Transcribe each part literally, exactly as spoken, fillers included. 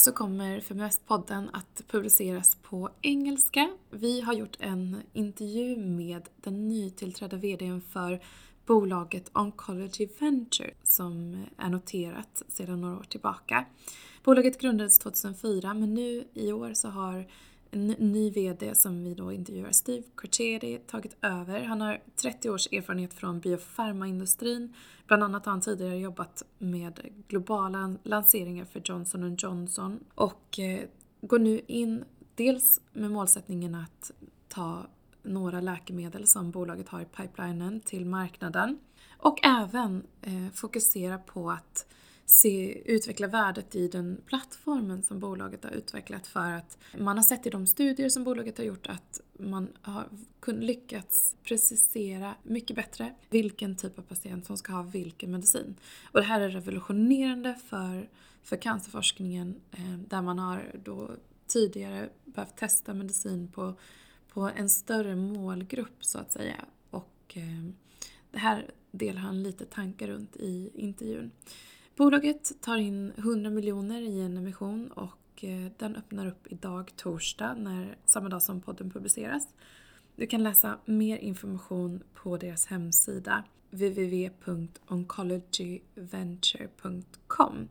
så kommer FeminVest-podden att publiceras på engelska. Vi har gjort en intervju med den nytillträdda vdn för bolaget Oncology Venture som är noterat sedan några år tillbaka. Bolaget grundades tjugohundrafyra, men nu i år så har en ny vd som vi då intervjuar, Steve Carchedi, tagit över. Han har trettio års erfarenhet från biofarmaindustrin. Bland annat har han tidigare jobbat med globala lanseringar för Johnson and Johnson och eh, går nu in dels med målsättningen att ta några läkemedel som bolaget har i pipelinen till marknaden och även eh, fokusera på att se, utveckla värdet i den plattformen som bolaget har utvecklat, för att man har sett i de studier som bolaget har gjort att man har kunnat lyckats precisera mycket bättre vilken typ av patient som ska ha vilken medicin. Och det här är revolutionerande för, för cancerforskningen eh, där man har då tidigare behövt testa medicin på, på en större målgrupp så att säga. Och eh, det här delar han lite tankar runt i intervjun. Bolaget tar in hundra miljoner i en emission och den öppnar upp idag torsdag, när, samma dag som podden publiceras. Du kan läsa mer information på deras hemsida w w w punkt oncology venture punkt com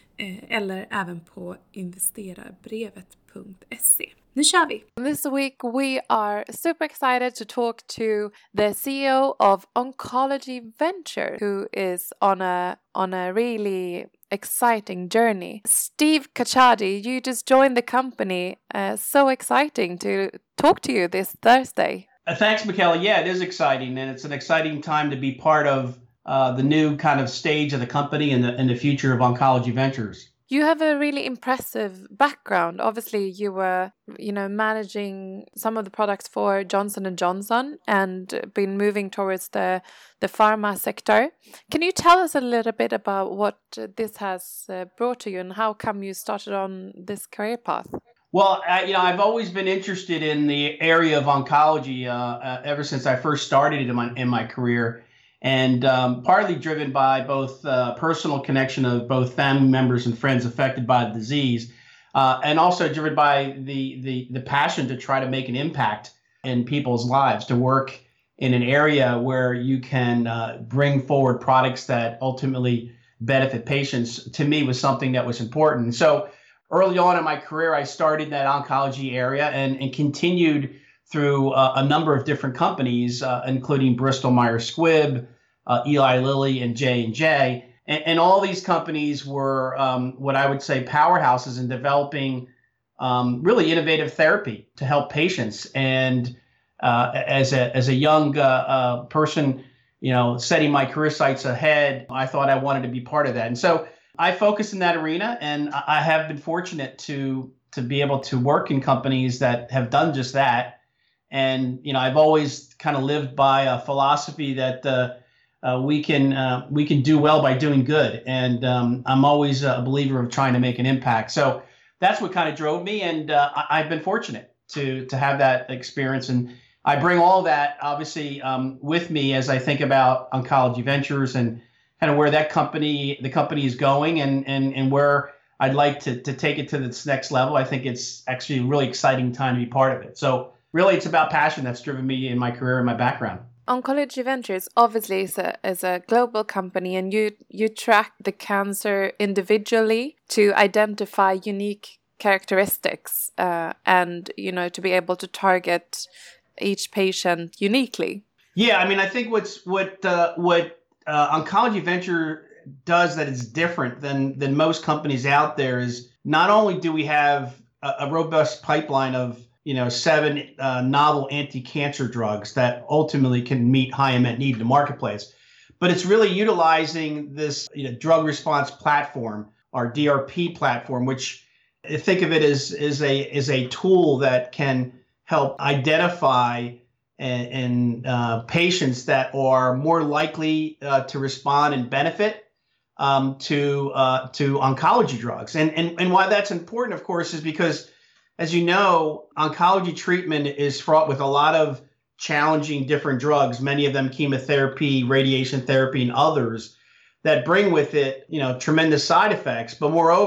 eller även på investerarbrevet punkt se. Nu kör vi! This week we are super excited to talk to the C E O of Oncology Venture, who is on a on a really exciting journey. Steve Carchedi, you just joined the company. Uh, so exciting to talk to you this Thursday. Uh, thanks, Michaela. Yeah, it is exciting, and it's an exciting time to be part of uh, the new kind of stage of the company and the and the future of Oncology Ventures. You have a really impressive background. Obviously, you were, you know, managing some of the products for Johnson and Johnson and been moving towards the the pharma sector. Can you tell us a little bit about what this has uh, brought to you and how come you started on this career path? Well, I, you know, I've always been interested in the area of oncology uh, uh, ever since I first started in my in my career. And um, partly driven by both uh, personal connection of both family members and friends affected by the disease, uh, and also driven by the, the the passion to try to make an impact in people's lives, to work in an area where you can uh, bring forward products that ultimately benefit patients, to me was something that was important. So early on in my career, I started in that oncology area and, and continued through uh, a number of different companies, uh, including Bristol Myers Squibb, uh, Eli Lilly, and J and J. And, and all these companies were um, what I would say powerhouses in developing um, really innovative therapy to help patients. And uh, as a as a young uh, uh, person, you know, setting my career sights ahead, I thought I wanted to be part of that. And so I focused in that arena, and I have been fortunate to to be able to work in companies that have done just that. And, you know, I've always kind of lived by a philosophy that uh, uh, we can uh, we can do well by doing good. And um, I'm always a believer of trying to make an impact. So that's what kind of drove me. And uh, I- I've been fortunate to to have that experience. And I bring all that, obviously, um, with me as I think about Oncology Ventures and kind of where that company, the company is going and and, and where I'd like to, to take it to this next level. I think it's actually a really exciting time to be part of it. So really, it's about passion that's driven me in my career and my background. Oncology Ventures obviously is a, is a global company, and you, you track the cancer individually to identify unique characteristics uh, and, you know, to be able to target each patient uniquely. Yeah, I mean, I think what's what uh, what uh, Oncology Venture does that is different than than most companies out there is not only do we have a, a robust pipeline of you know, seven uh, novel anti-cancer drugs that ultimately can meet high unmet need in the marketplace. But it's really utilizing this you know, drug response platform, our D R P platform, which think of it as, as, a, as a tool that can help identify and, and uh, patients that are more likely uh, to respond and benefit um, to uh, to oncology drugs. And, and, and why that's important, of course, is because as you know, oncology treatment is fraught with a lot of challenging different drugs, many of them chemotherapy, radiation therapy, and others that bring with it, you know, tremendous side effects. But moreover,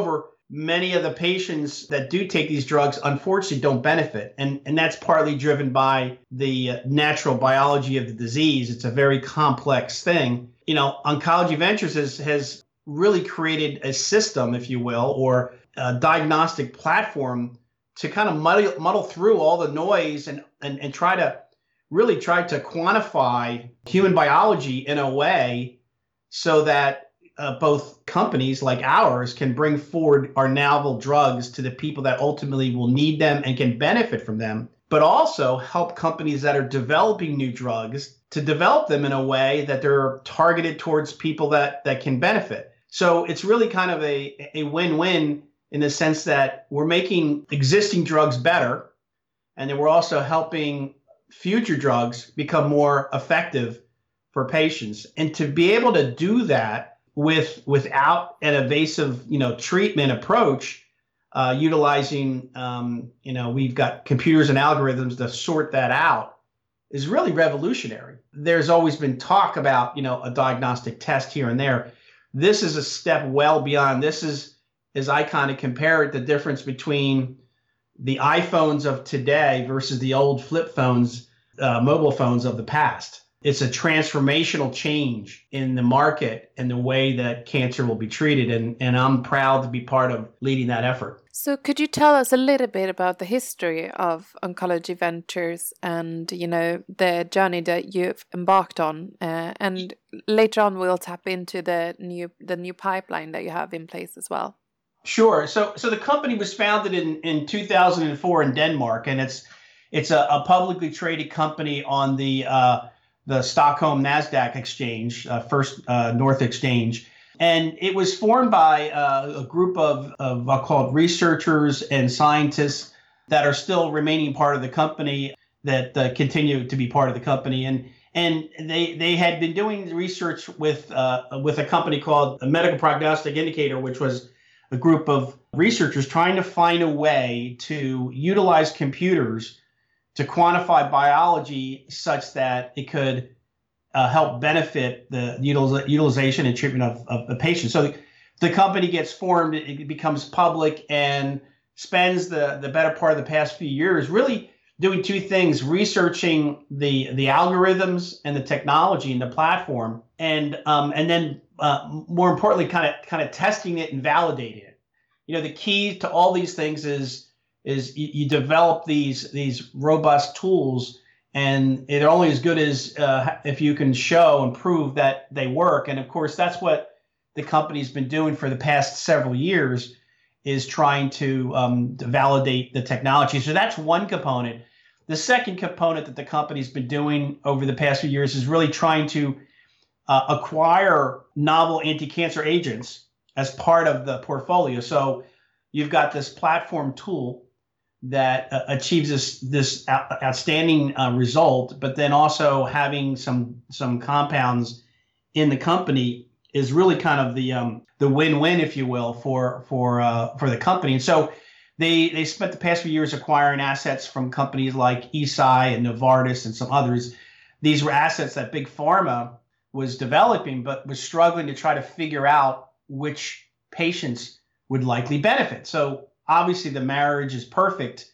many of the patients that do take these drugs unfortunately don't benefit. And, and that's partly driven by the natural biology of the disease. It's a very complex thing. You know, Oncology Ventures has, has really created a system, if you will, or a diagnostic platform to kind of muddle, muddle through all the noise and, and, and try to really try to quantify human biology in a way so that uh, both companies like ours can bring forward our novel drugs to the people that ultimately will need them and can benefit from them, but also help companies that are developing new drugs to develop them in a way that they're targeted towards people that, that can benefit. So it's really kind of a, a win-win in the sense that we're making existing drugs better, and then we're also helping future drugs become more effective for patients. And to be able to do that with without an invasive, you know, treatment approach, uh, utilizing, um, you know, we've got computers and algorithms to sort that out, is really revolutionary. There's always been talk about, you know, a diagnostic test here and there. This is a step well beyond. This is, as I kind of compare it, the difference between the iPhones of today versus the old flip phones, uh, mobile phones of the past. It's a transformational change in the market and the way that cancer will be treated. And, and I'm proud to be part of leading that effort. So could you tell us a little bit about the history of Oncology Ventures and, you know, the journey that you've embarked on? Uh, and later on, we'll tap into the new the new pipeline that you have in place as well. Sure. So so the company was founded in, in two thousand four in Denmark, and it's it's a, a publicly traded company on the uh, the Stockholm NASDAQ exchange, uh, First uh, North Exchange. And it was formed by uh, a group of, of I'll call it researchers and scientists that are still remaining part of the company, that uh, continue to be part of the company. And and they they had been doing research with uh, with a company called a Medical Prognostic Indicator, which was a group of researchers trying to find a way to utilize computers to quantify biology such that it could uh, help benefit the util- utilization and treatment of, of the patient. So the, the company gets formed, it becomes public, and spends the, the better part of the past few years really doing two things: researching the the algorithms and the technology and the platform, and um, and then uh, more importantly, kind of kind of testing it and validating it. You know, the key to all these things is is you, you develop these these robust tools, and they're only as good as uh, if you can show and prove that they work. And of course, that's what the company's been doing for the past several years, is trying to, um, to validate the technology. So that's one component. The second component that the company's been doing over the past few years is really trying to uh, acquire novel anti-cancer agents as part of the portfolio. So you've got this platform tool that uh, achieves this this out- outstanding uh, result, but then also having some some compounds in the company is really kind of the um, the win-win, if you will, for for uh, for the company. And so they they spent the past few years acquiring assets from companies like Eisai and Novartis and some others. These were assets that Big Pharma was developing, but was struggling to try to figure out which patients would likely benefit. So obviously the marriage is perfect.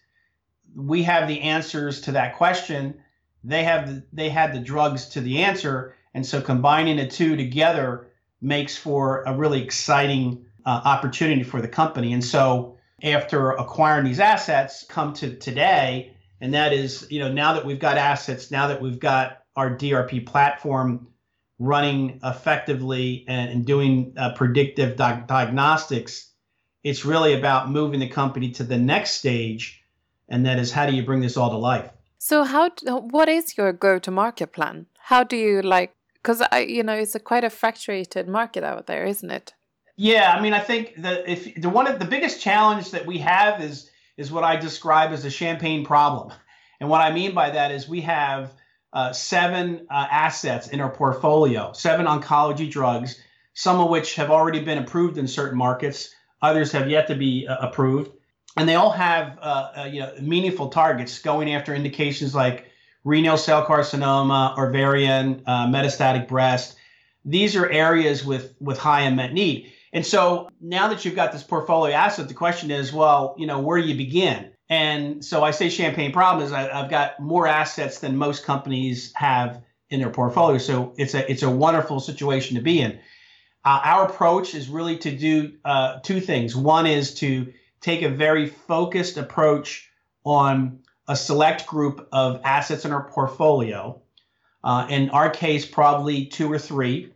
We have the answers to that question. They have the, they had the drugs to the answer, and so combining the two together makes for a really exciting uh, opportunity for the company. And so after acquiring these assets, come to today, and that is, you know, now that we've got assets, now that we've got our D R P platform running effectively and, and doing uh, predictive di- diagnostics, it's really about moving the company to the next stage, and that is, how do you bring this all to life? So how, what is your go-to-market plan? How do you like, because I, you know, it's a quite a fractured market out there, isn't it? Yeah, I mean, I think that if the one of the biggest challenge that we have is is what I describe as a champagne problem, and what I mean by that is we have uh, seven uh, assets in our portfolio, seven oncology drugs, some of which have already been approved in certain markets, others have yet to be uh, approved, and they all have uh, uh, you know meaningful targets going after indications like renal cell carcinoma, ovarian, uh, metastatic breast. These are areas with with high unmet need. And so now that you've got this portfolio asset, the question is, well, you know, where do you begin? And so I say champagne problem is I, I've got more assets than most companies have in their portfolio. So it's a it's a wonderful situation to be in. Uh, our approach is really to do uh, two things. One is to take a very focused approach on a select group of assets in our portfolio. Uh, in our case, probably two or three,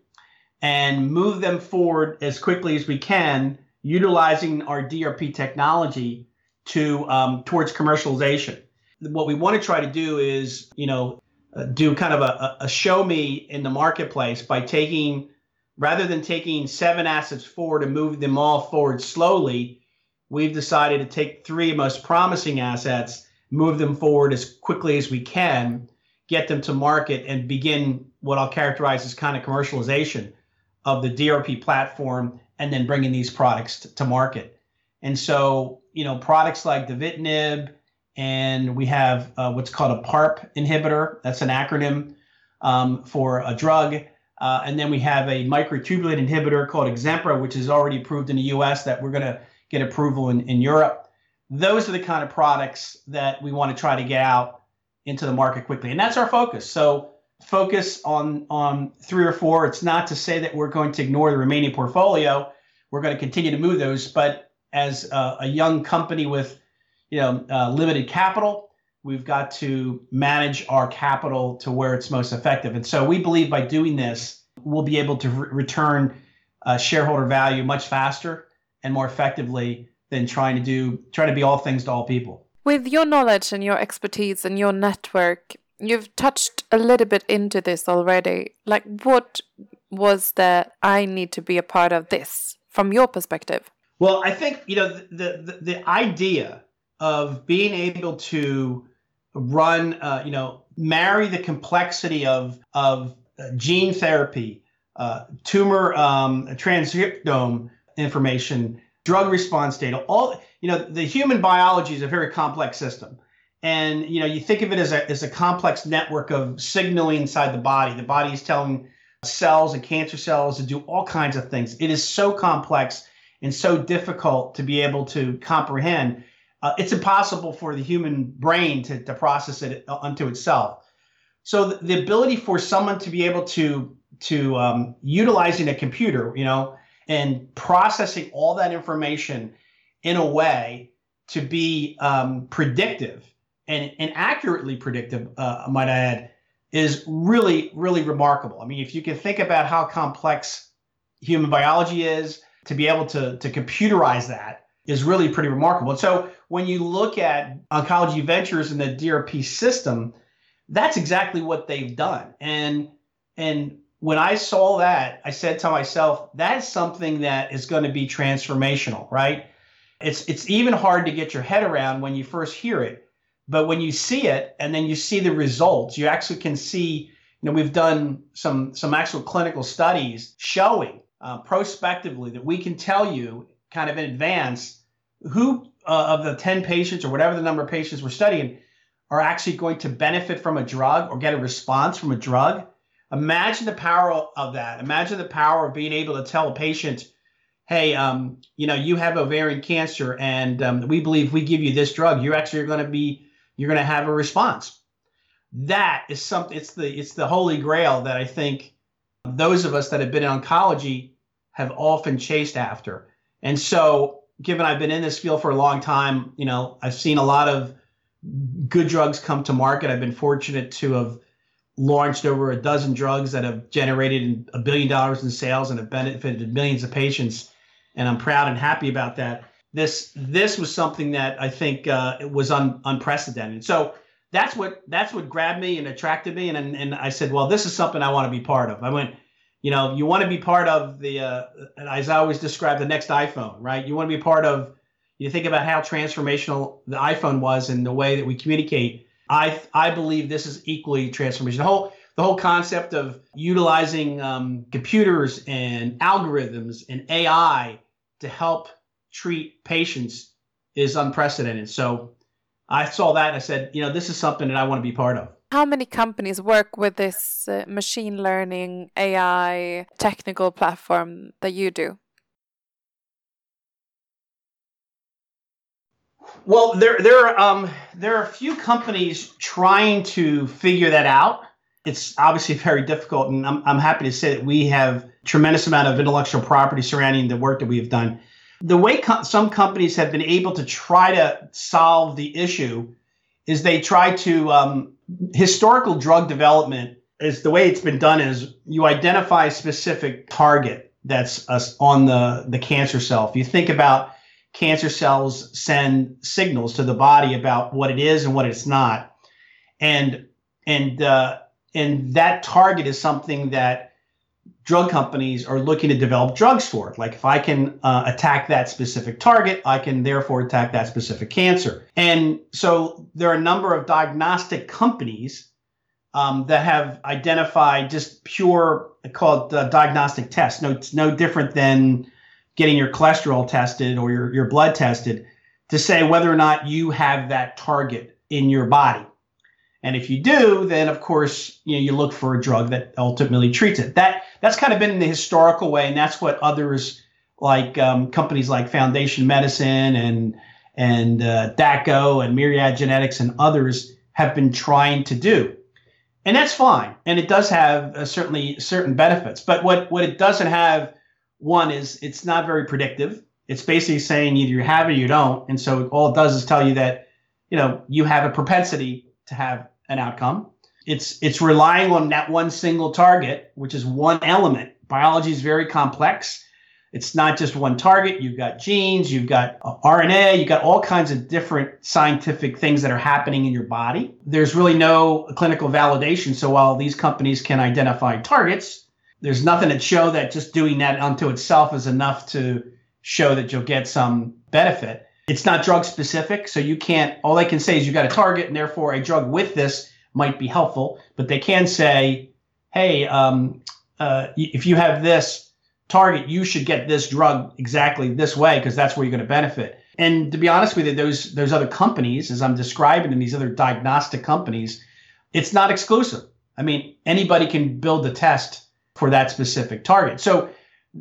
and move them forward as quickly as we can, utilizing our D R P technology to um, towards commercialization. What we want to try to do is, you know, uh, do kind of a, a show me in the marketplace by taking, rather than taking seven assets forward and move them all forward slowly, we've decided to take three most promising assets, move them forward as quickly as we can, get them to market, and begin what I'll characterize as kind of commercialization of the D R P platform, and then bringing these products t- to market. And so, you know, products like Davitinib, and we have uh, what's called a PARP inhibitor. That's an acronym um, for a drug. Uh, and then we have a microtubulin inhibitor called Exempra, which is already approved in the U S that we're going to get approval in, in Europe. Those are the kind of products that we want to try to get out into the market quickly. And that's our focus. So focus on, on three or four. It's not to say that we're going to ignore the remaining portfolio. We're going to continue to move those. But as a, a young company with, you know, uh, limited capital, we've got to manage our capital to where it's most effective. And so we believe by doing this, we'll be able to re- return uh, shareholder value much faster and more effectively than trying to do, trying to be all things to all people. With your knowledge and your expertise and your network, you've touched a little bit into this already. Like, what was the I need to be a part of this from your perspective? Well, I think, you know, the the, the idea of being able to run, uh, you know, marry the complexity of of gene therapy, uh, tumor um, transcriptome information, drug response data, all, you know, the human biology is a very complex system. And, you know, you think of it as a, as a complex network of signaling inside the body. The body is telling cells and cancer cells to do all kinds of things. It is so complex and so difficult to be able to comprehend. Uh, it's impossible for the human brain to, to process it unto itself. So the, the ability for someone to be able to, to um, utilizing a computer, you know, and processing all that information in a way to be um, predictive and, and accurately predictive, uh, I might add, is really, really remarkable. I mean, if you can think about how complex human biology is, to be able to, to computerize that is really pretty remarkable. And so when you look at Oncology Ventures and the D R P system, that's exactly what they've done. And, and when I saw that, I said to myself, that's something that is going to be transformational, right? It's, it's even hard to get your head around when you first hear it. But when you see it and then you see the results, you actually can see, you know, we've done some, some actual clinical studies showing uh, prospectively that we can tell you kind of in advance who uh, of the ten patients or whatever the number of patients we're studying are actually going to benefit from a drug or get a response from a drug. Imagine the power of that. Imagine the power of being able to tell a patient, hey, um, you know, you have ovarian cancer and um, we believe if we give you this drug, you're actually going to be, you're going to have a response. That is something, it's the, it's the holy grail that I think those of us that have been in oncology have often chased after. And so given I've been in this field for a long time, you know, I've seen a lot of good drugs come to market. I've been fortunate to have launched over a dozen drugs that have generated a billion dollars in sales and have benefited millions of patients. And I'm proud and happy about that. This this was something that I think uh, it was un, unprecedented. So that's what that's what grabbed me and attracted me. And, and and I said, well, this is something I want to be part of. I went, you know, you want to be part of the, uh, as I always describe, the next iPhone, right? You want to be part of, you think about how transformational the iPhone was and the way that we communicate. I I believe this is equally transformational. The whole the whole concept of utilizing um, computers and algorithms and A I to help treat patients is unprecedented. So I saw that and I said, you know, this is something that I want to be part of. How many companies work with this uh, machine learning A I technical platform that you do? Well, there there are um, there are a few companies trying to figure that out. It's obviously very difficult, and I'm I'm happy to say that we have a tremendous amount of intellectual property surrounding the work that we have done. The way co- some companies have been able to try to solve the issue is they try to um, historical drug development is the way it's been done is you identify a specific target that's uh, on the the cancer cell. If you think about cancer cells send signals to the body about what it is and what it's not. And and uh, and that target is something that drug companies are looking to develop drugs for. Like if I can uh, attack that specific target, I can therefore attack that specific cancer. And so there are a number of diagnostic companies um, that have identified just pure, called uh, diagnostic tests. No, it's no different than getting your cholesterol tested or your, your blood tested to say whether or not you have that target in your body. And if you do, then of course, you know, you look for a drug that ultimately treats it. That that's kind of been the historical way, and that's what others like um, companies like Foundation Medicine and and uh, D A C O and Myriad Genetics and others have been trying to do. And that's fine, and it does have uh, certainly certain benefits. But what what it doesn't have, one is it's not very predictive. It's basically saying either you have it or you don't. And so all it does is tell you that, you know, you have a propensity to have an outcome. It's it's relying on that one single target, which is one element. Biology is very complex. It's not just one target. You've got genes, you've got R N A, you've got all kinds of different scientific things that are happening in your body. There's really no clinical validation. So while these companies can identify targets, there's nothing that show that just doing that unto itself is enough to show that you'll get some benefit. It's not drug specific, so you can't, all they can say is you got a target and therefore a drug with this might be helpful, but they can say, hey, um, uh, if you have this target, you should get this drug exactly this way because that's where you're going to benefit. And to be honest with you, those, those other companies, as I'm describing them, these other diagnostic companies, it's not exclusive. I mean, anybody can build a test for that specific target. So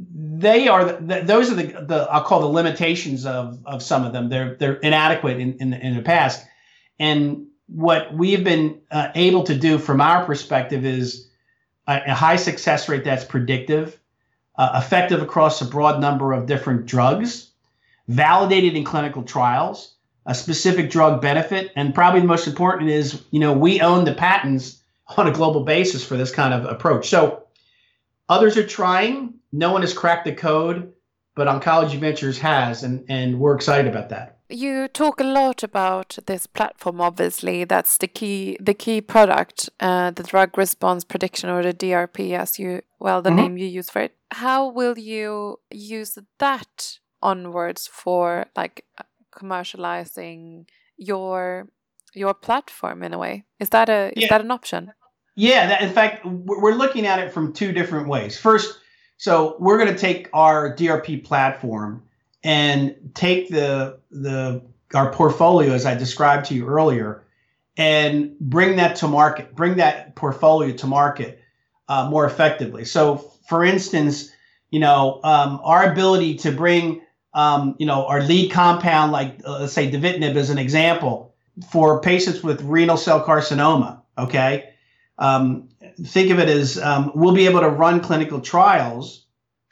they are the, those are the, the I'll call the limitations of of some of them. They're they're inadequate in in the, in the past. And what we've been uh, able to do from our perspective is a, a high success rate that's predictive, uh, effective across a broad number of different drugs, validated in clinical trials, a specific drug benefit, and probably the most important is, you know, we own the patents on a global basis for this kind of approach. So others are trying. No one has cracked the code, but Oncology Ventures has, and, and we're excited about that. You talk a lot about this platform, obviously. That's the key the key product, uh, the drug response prediction, or the D R P, as you, well, the mm-hmm. name you use for it. How will you use that onwards for like commercializing your your platform in a way? Is that a yeah. is that an option? Yeah, that, in fact, we're looking at it from two different ways. First, so we're going to take our D R P platform and take the the our portfolio, as I described to you earlier, and bring that to market, bring that portfolio to market uh, more effectively. So, for instance, you know, um, our ability to bring, um, you know, our lead compound, like uh, let's say Davitinib as an example, for patients with renal cell carcinoma, okay? Um, think of it as um, we'll be able to run clinical trials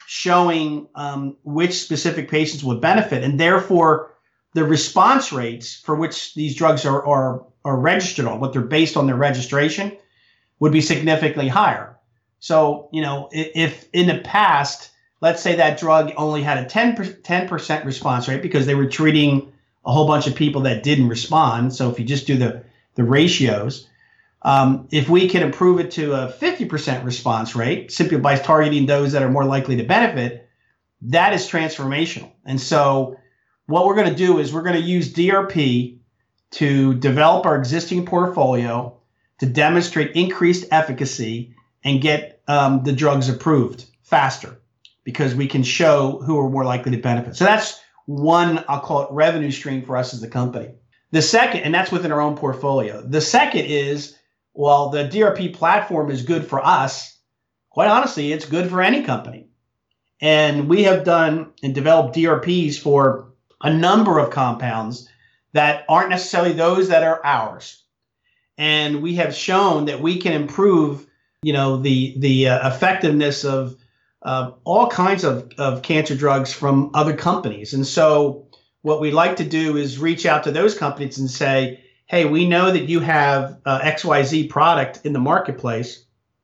showing um, which specific patients would benefit, and therefore the response rates for which these drugs are, are, are registered on, what they're based on their registration, would be significantly higher. So, you know, if, if in the past, let's say that drug only had a ten percent response rate because they were treating a whole bunch of people that didn't respond. So if you just do the, the ratios, Um, if we can improve it to a fifty percent response rate, simply by targeting those that are more likely to benefit, that is transformational. And so what we're going to do is we're going to use D R P to develop our existing portfolio to demonstrate increased efficacy and get um, the drugs approved faster because we can show who are more likely to benefit. So that's one, I'll call it, revenue stream for us as a company. The second, and that's within our own portfolio. The second is, well, the D R P platform is good for us. Quite honestly, it's good for any company. And we have done and developed D R Ps for a number of compounds that aren't necessarily those that are ours. And we have shown that we can improve, you know, the the uh, effectiveness of uh, all kinds of, of cancer drugs from other companies. And so what we like to do is reach out to those companies and say, hey, we know that you have uh, X Y Z product in the marketplace.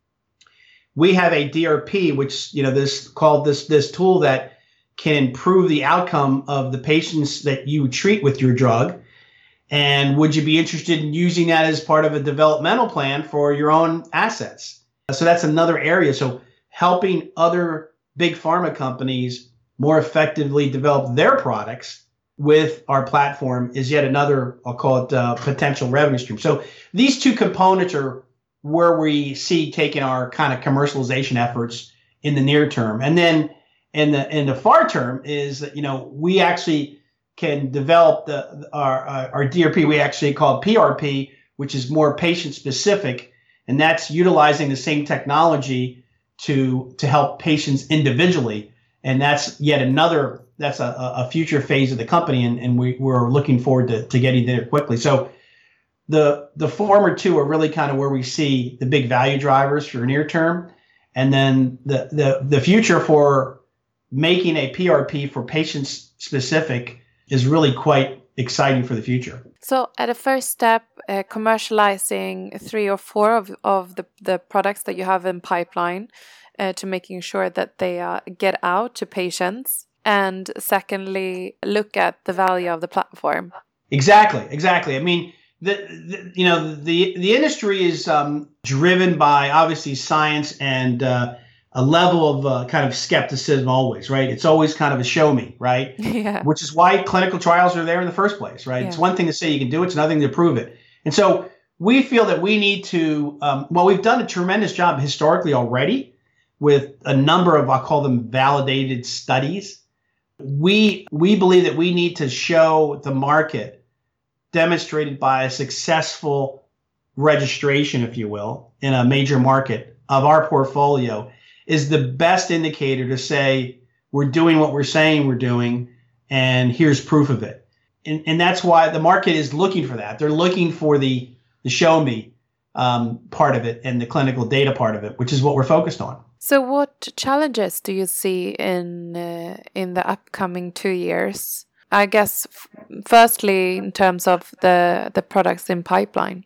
We have a D R P, which, you know, this called this this tool that can improve the outcome of the patients that you treat with your drug. And would you be interested in using that as part of a developmental plan for your own assets? So that's another area. So helping other big pharma companies more effectively develop their products with our platform is yet another, I'll call it, uh, potential revenue stream. So these two components are where we see taking our kind of commercialization efforts in the near term. And then in the in the far term is that, you know, we actually can develop the our our D R P. We actually call it P R P, which is more patient specific, and that's utilizing the same technology to to help patients individually. And that's yet another, that's a, a future phase of the company, and, and we, we're looking forward to, to getting there quickly. So the the former two are really kind of where we see the big value drivers for near term. And then the the the future for making a P R P for patients specific is really quite exciting for the future. So at a first step, uh, commercializing three or four of, of the, the products that you have in pipeline uh, to making sure that they uh, get out to patients. And secondly, look at the value of the platform. Exactly, exactly. I mean, the, the you know, the, the industry is um, driven by obviously science and uh, a level of uh, kind of skepticism always, right? It's always kind of a show me, right? Yeah. Which is why clinical trials are there in the first place, right? Yeah. It's one thing to say you can do it, it's another thing to prove it. And so we feel that we need to, um, well, we've done a tremendous job historically already with a number of, I'll call them validated studies. We, we believe that we need to show the market demonstrated by a successful registration, if you will, in a major market of our portfolio is the best indicator to say we're doing what we're saying we're doing, and here's proof of it. And, and that's why the market is looking for that. They're looking for the, the show me um, part of it and the clinical data part of it, which is what we're focused on. So what challenges do you see in uh, in the upcoming two years? I guess, f- firstly, in terms of the, the products in pipeline.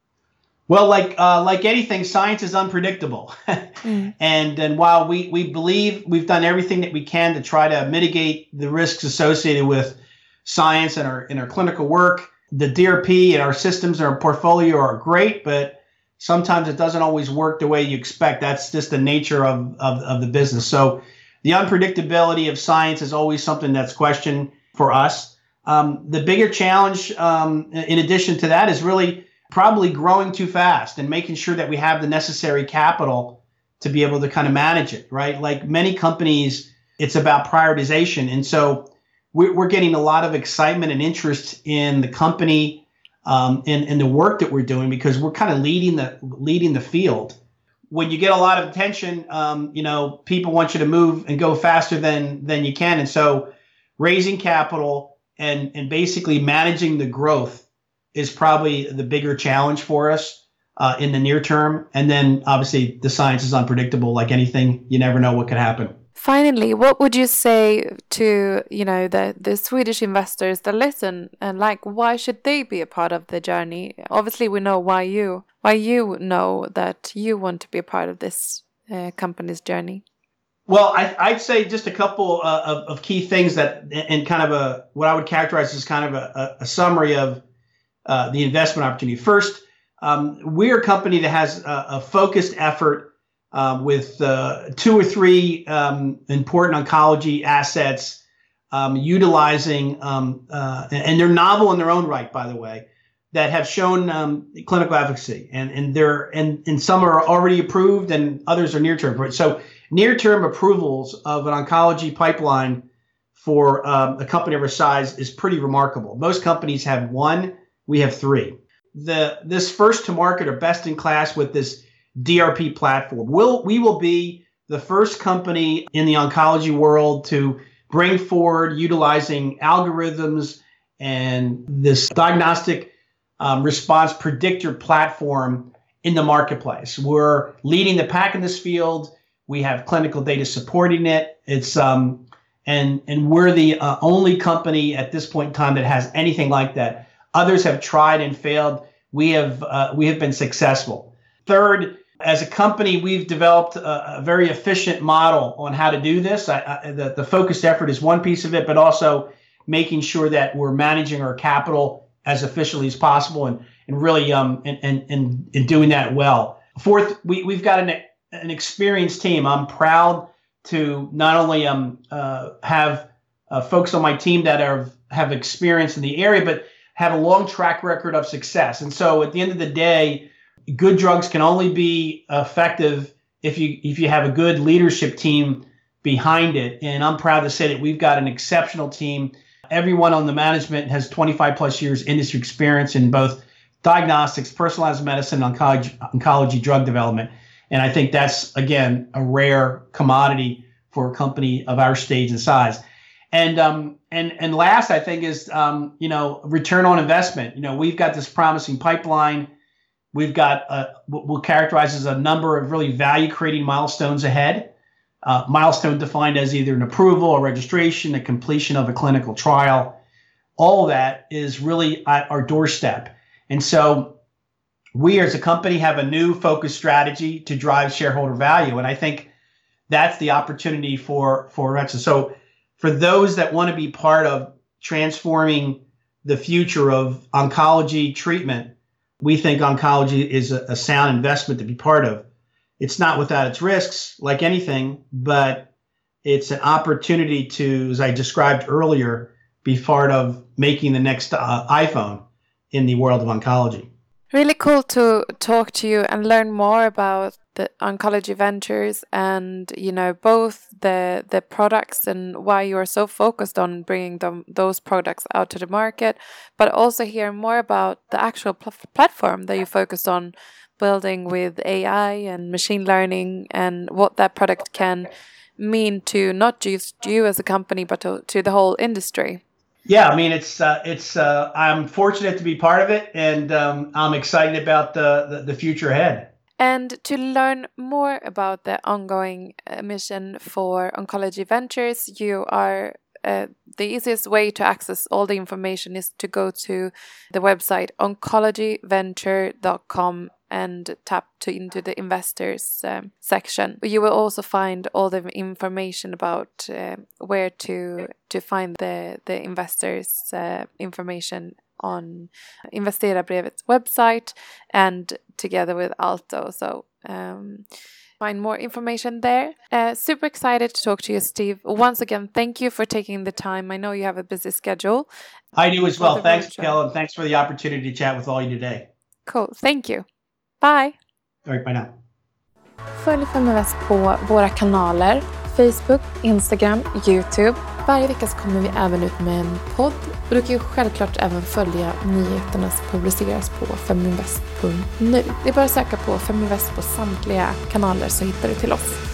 Well, like uh, like anything, science is unpredictable. mm. And and while we, we believe we've done everything that we can to try to mitigate the risks associated with science and our in our clinical work, the D R P and our systems and our portfolio are great, but sometimes it doesn't always work the way you expect. That's just the nature of, of, of the business. So the unpredictability of science is always something that's questioned for us. Um, the bigger challenge, um, in addition to that, is really probably growing too fast and making sure that we have the necessary capital to be able to kind of manage it, right? Like many companies, it's about prioritization. And so we're, we're getting a lot of excitement and interest in the company, um, in, in the work that we're doing, because we're kind of leading the leading the field. When you get a lot of attention, um, you know, people want you to move and go faster than than you can. And so raising capital and, and basically managing the growth is probably the bigger challenge for us uh, in the near term. And then obviously the science is unpredictable, like anything. You never know what could happen. Finally, what would you say to, you know, the, the Swedish investors that listen, and like, why should they be a part of the journey? Obviously, we know why you, why you know that you want to be a part of this uh, company's journey. Well, I, I'd say just a couple uh, of, of key things that, and kind of a, what I would characterize as kind of a, a summary of Uh, the investment opportunity. First, um, we're a company that has a, a focused effort uh, with uh, two or three um, important oncology assets, um, utilizing, um, uh, and they're novel in their own right, by the way, that have shown um, clinical efficacy, and and they're and, and some are already approved, and others are near term. So near term approvals of an oncology pipeline for um, a company of our size is pretty remarkable. Most companies have one. We have three. The this first to market or best in class with this D R P platform. We'll, we will be the first company in the oncology world to bring forward utilizing algorithms and this diagnostic um, response predictor platform in the marketplace. We're leading the pack in this field. We have clinical data supporting it. It's um, and and we're the uh, only company at this point in time that has anything like that. Others have tried and failed. We have uh, we have been successful. Third, as a company, we've developed a, a very efficient model on how to do this. I, I, the, the focused effort is one piece of it, but also making sure that we're managing our capital as efficiently as possible and and really um and and and, and doing that well. Fourth, we we've got an an experienced team. I'm proud to not only um uh, have uh, folks on my team that are have experience in the area, but have a long track record of success. And so, at the end of the day, good drugs can only be effective if you if you have a good leadership team behind it. And I'm proud to say that we've got an exceptional team. Everyone on the management has twenty-five plus years industry experience in both diagnostics, personalized medicine, oncology, oncology drug development. And I think that's, again, a rare commodity for a company of our stage and size. And um, and and last, I think, is um, you know return on investment. You know, we've got this promising pipeline. We've got uh, what we'll characterize as a number of really value-creating milestones ahead. Uh, milestone defined as either an approval, a registration, a completion of a clinical trial. All of that is really at our doorstep. And so we as a company have a new focused strategy to drive shareholder value. And I think that's the opportunity for, for Orexo. So for those that want to be part of transforming the future of oncology treatment, we think oncology is a, a sound investment to be part of. It's not without its risks, like anything, but it's an opportunity to, as I described earlier, be part of making the next uh, iPhone in the world of oncology. Really cool to talk to you and learn more about the oncology ventures and, you know, both the the products and why you are so focused on bringing them, those products out to the market, but also hear more about the actual pl- platform that you focused on building with A I and machine learning and what that product can mean to not just you as a company, but to, to the whole industry. Yeah, I mean, it's uh, it's. Uh, I'm fortunate to be part of it, and um, I'm excited about the, the the future ahead. And to learn more about the ongoing uh, mission for Oncology Ventures, you are uh, the easiest way to access all the information is to go to the website oncology venture dot com and tap to into the investors um, section. You will also find all the information about uh, where to to find the the investors uh, information on Investerarbrevets website and together with Alto. So um, find more information there. Uh, super excited to talk to you, Steve. Once again, thank you for taking the time. I know you have a busy schedule. I do as well. Thanks, Kel, and thanks for the opportunity to chat with all you today. Cool. Thank you. Bye. All right, bye now. Följ Feminvest på våra kanaler Facebook, Instagram, YouTube. Varje vecka så kommer vi även ut med en podd. Och du kan ju självklart även följa nyheterna som publiceras på feminvest punkt nu. Det är bara att söka på Feminvest på samtliga kanaler så hittar du till oss.